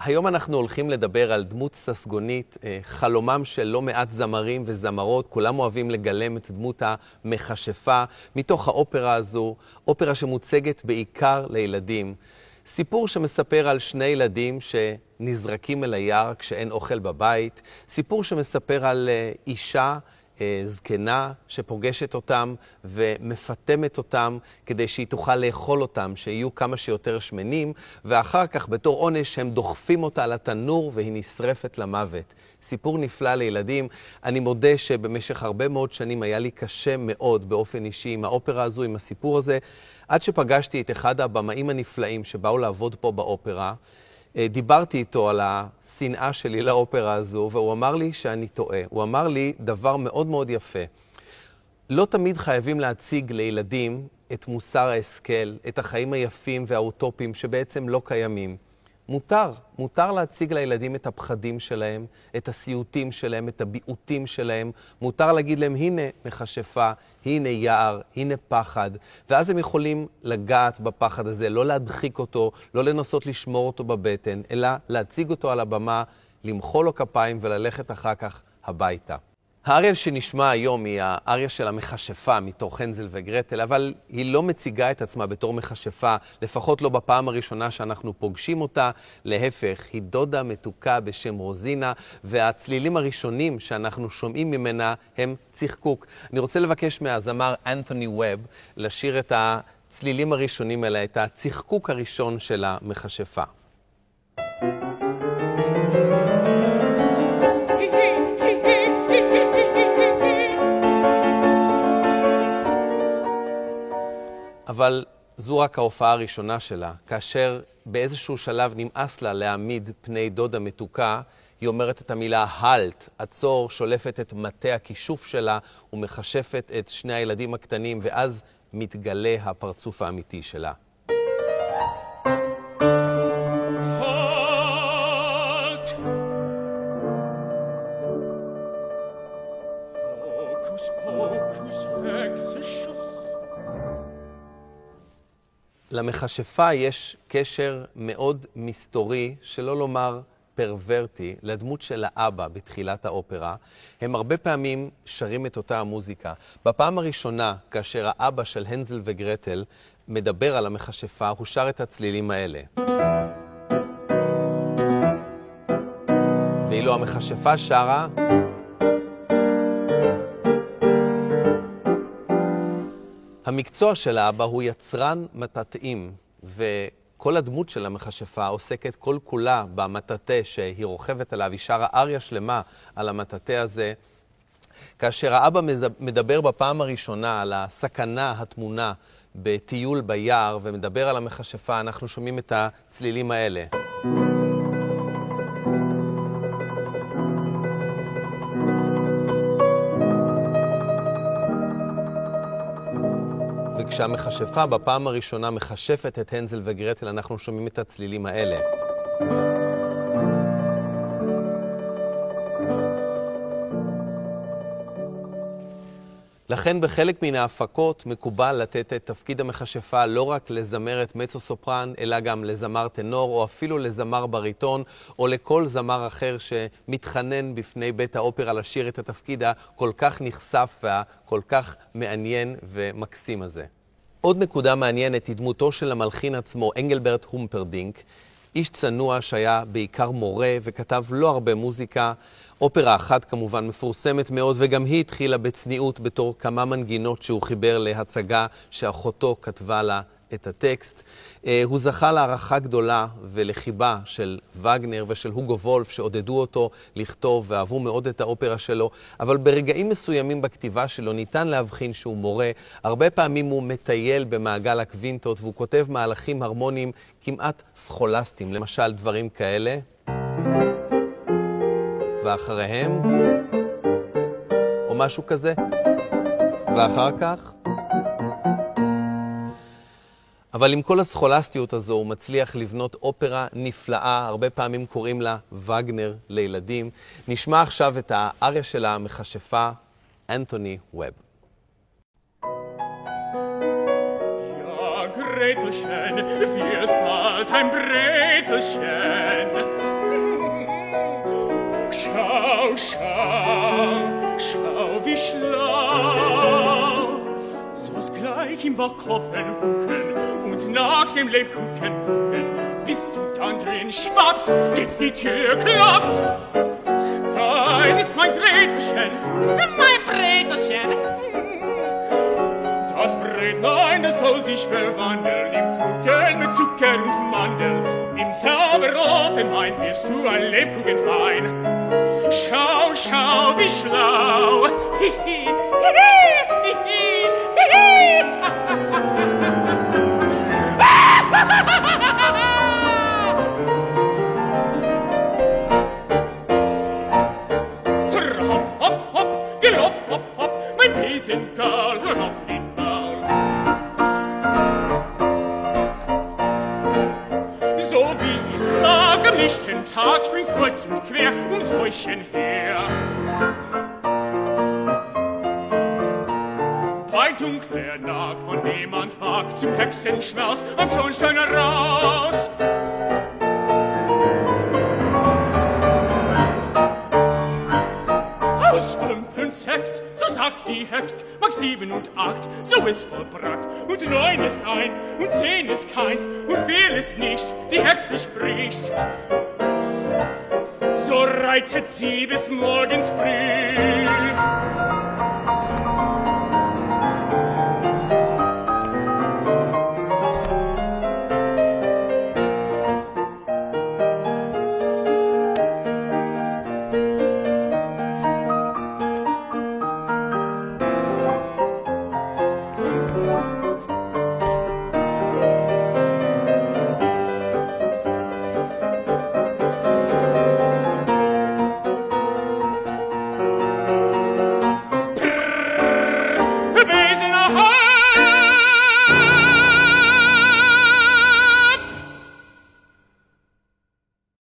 היום אנחנו הולכים לדבר על דמות ססגונית, חלומם של לא מעט זמרים וזמרות, כולם אוהבים לגלם את דמות המכשפה מתוך האופרה הזו, אופרה שמוצגת בעיקר לילדים. סיפור שמספר על שני ילדים שנזרקים אל היער כשאין אוכל בבית, סיפור שמספר על אישה זקנה שפוגשת אותם ומפתמת אותם כדי שהיא תוכל לאכול אותם, שיהיו כמה שיותר שמנים, ואחר כך בתור עונש הם דוחפים אותה על התנור והיא נשרפת למוות. סיפור נפלא לילדים. אני מודה שבמשך הרבה מאוד שנים היה לי קשה מאוד באופן אישי עם האופרה הזו, עם הסיפור הזה, עד שפגשתי את אחד הבמאים הנפלאים שבאו לעבוד פה באופרה. דיברתי איתו על השנאה שלי לאופרה הזו, והוא אמר לי שאני טועה. הוא אמר לי דבר מאוד מאוד יפה. לא תמיד חייבים להציג לילדים את מוסר ההשכל, את החיים היפים והאוטופיים שבעצם לא קיימים. מותר להציג לילדים את הפחדים שלהם, את הסיוטים שלהם, את הביעותים שלהם. מותר להגיד להם, הנה מכשפה, הנה יער, הנה פחד. ואז הם יכולים לגעת בפחד הזה, לא להדחיק אותו, לא לנסות לשמור אותו בבטן, אלא להציג אותו על הבמה, למחוא לו כפיים וללכת אחר כך הביתה. האריה שנשמע היום היא האריה של המכשפה מתוך הנזל וגרטל, אבל היא לא מציגה את עצמה בתור מכשפה, לפחות לא בפעם הראשונה שאנחנו פוגשים אותה. להפך, היא דודה מתוקה בשם רוזינה, והצלילים הראשונים שאנחנו שומעים ממנה הם צחקוק. אני רוצה לבקש מהזמר אנתוני ווב לשיר את הצלילים הראשונים האלה, את הצחקוק הראשון של המכשפה. אבל זו רק ההופעה הראשונה שלה. כאשר באיזשהו שלב נמאס לה להעמיד פני דודה מתוקה, היא אומרת את המילה הלט, עצור, שולפת את מטה הכישוף שלה ומכשפת את שני הילדים הקטנים, ואז מתגלה הפרצוף האמיתי שלה. למכשפה יש קשר מאוד מסתורי, שלא לומר פרוורטי, לדמות של האבא בתחילת האופרה. הם הרבה פעמים שרים את אותה המוזיקה. בפעם הראשונה, כאשר האבא של הנזל וגרטל מדבר על המכשפה, הוא שר את הצלילים האלה. ואילו המכשפה שרה, המקצוע של האבא הוא יצרן מטאטאים, וכל הדמות של המכשפה עוסקת כל כולה במטאטה שהיא רוכבת עליו, היא שרה אריה שלמה על המטאטה הזה. כאשר האבא מדבר בפעם הראשונה על הסכנה התמונה בטיול ביער ומדבר על המכשפה, אנחנו שומעים את הצלילים האלה. וכשהמכשפה בפעם הראשונה מכשפת את הנזל וגרטל, אנחנו שומעים את הצלילים האלה. לכן בחלק מן ההפקות מקובל לתת את תפקיד המכשפה לא רק לזמרת מצו סופרן, אלא גם לזמר טנור, או אפילו לזמר בריטון, או לכל זמר אחר שמתחנן בפני בית האופרה לשיר את התפקיד הכל כך נחשף והכל כך מעניין ומקסים הזה. עוד נקודה מעניינת היא דמותו של המלחין עצמו, אנגלברט הומפרדינק, איש צנוע שהיה בעיקר מורה וכתב לא הרבה מוזיקה. אופרה אחת כמובן מפורסמת מאוד, וגם היא התחילה בצניעות בתור כמה מנגינות שהוא חיבר להצגה שאחותו כתבה לה את הטקסט. הוא זכה להערכה גדולה ולחיבה של וגנר ושל הוגו וולף שעודדו אותו לכתוב ואהבו מאוד את האופרה שלו, אבל ברגעים מסוימים בכתיבה שלו ניתן להבחין שהוא מורה. הרבה פעמים הוא מטייל במעגל הקווינטות והוא כותב מהלכים הרמוניים כמעט סכולסטיים, למשל דברים כאלה. ואחריהם, או משהו כזה, ואחר כך. אבל עם כל הסכולסטיות הזו הוא מצליח לבנות אופרה נפלאה, הרבה פעמים קוראים לה וגנר לילדים. נשמע עכשיו את האריה של המכשפה, אנתוני ווב. Ja, Gretelchen, wie es bald ein Brezelchen. Schau, schau, schau, wie schlau. Soll's gleich im Backofen hucken und nach dem Lebkuchen gucken. Bist du dann drin, schwaps, geht's die Tür, klaps. Dein ist mein Breterchen, Mein Breterchen. das Bretlein, das soll sich verwandeln im Kuchen mit Zucker und Mandel. Im Zauberofen mein wirst du ein Lebkuchenfein. Schau, schau, wie schlau. Hihi, hihi, hihi, hihi. Hör hopp, hopp, hopp, gelopp, hopp, hopp, mein Besenkerl, hör hopp, nicht faul. So wie ich's mag am lichten Tag, spring kreuz und quer ums Häuschen her. Bei dunkler Nacht, von niemand wagt, zum Hexenschmaus am Schornstein heraus. Aus 5 und 6, so sagt die Hext, mag 7 und 8, so ist vollbracht. Und 9 ist 1, und 10 ist keins, und viel ist nichts, die Hexe spricht. So reitet sie bis morgens früh.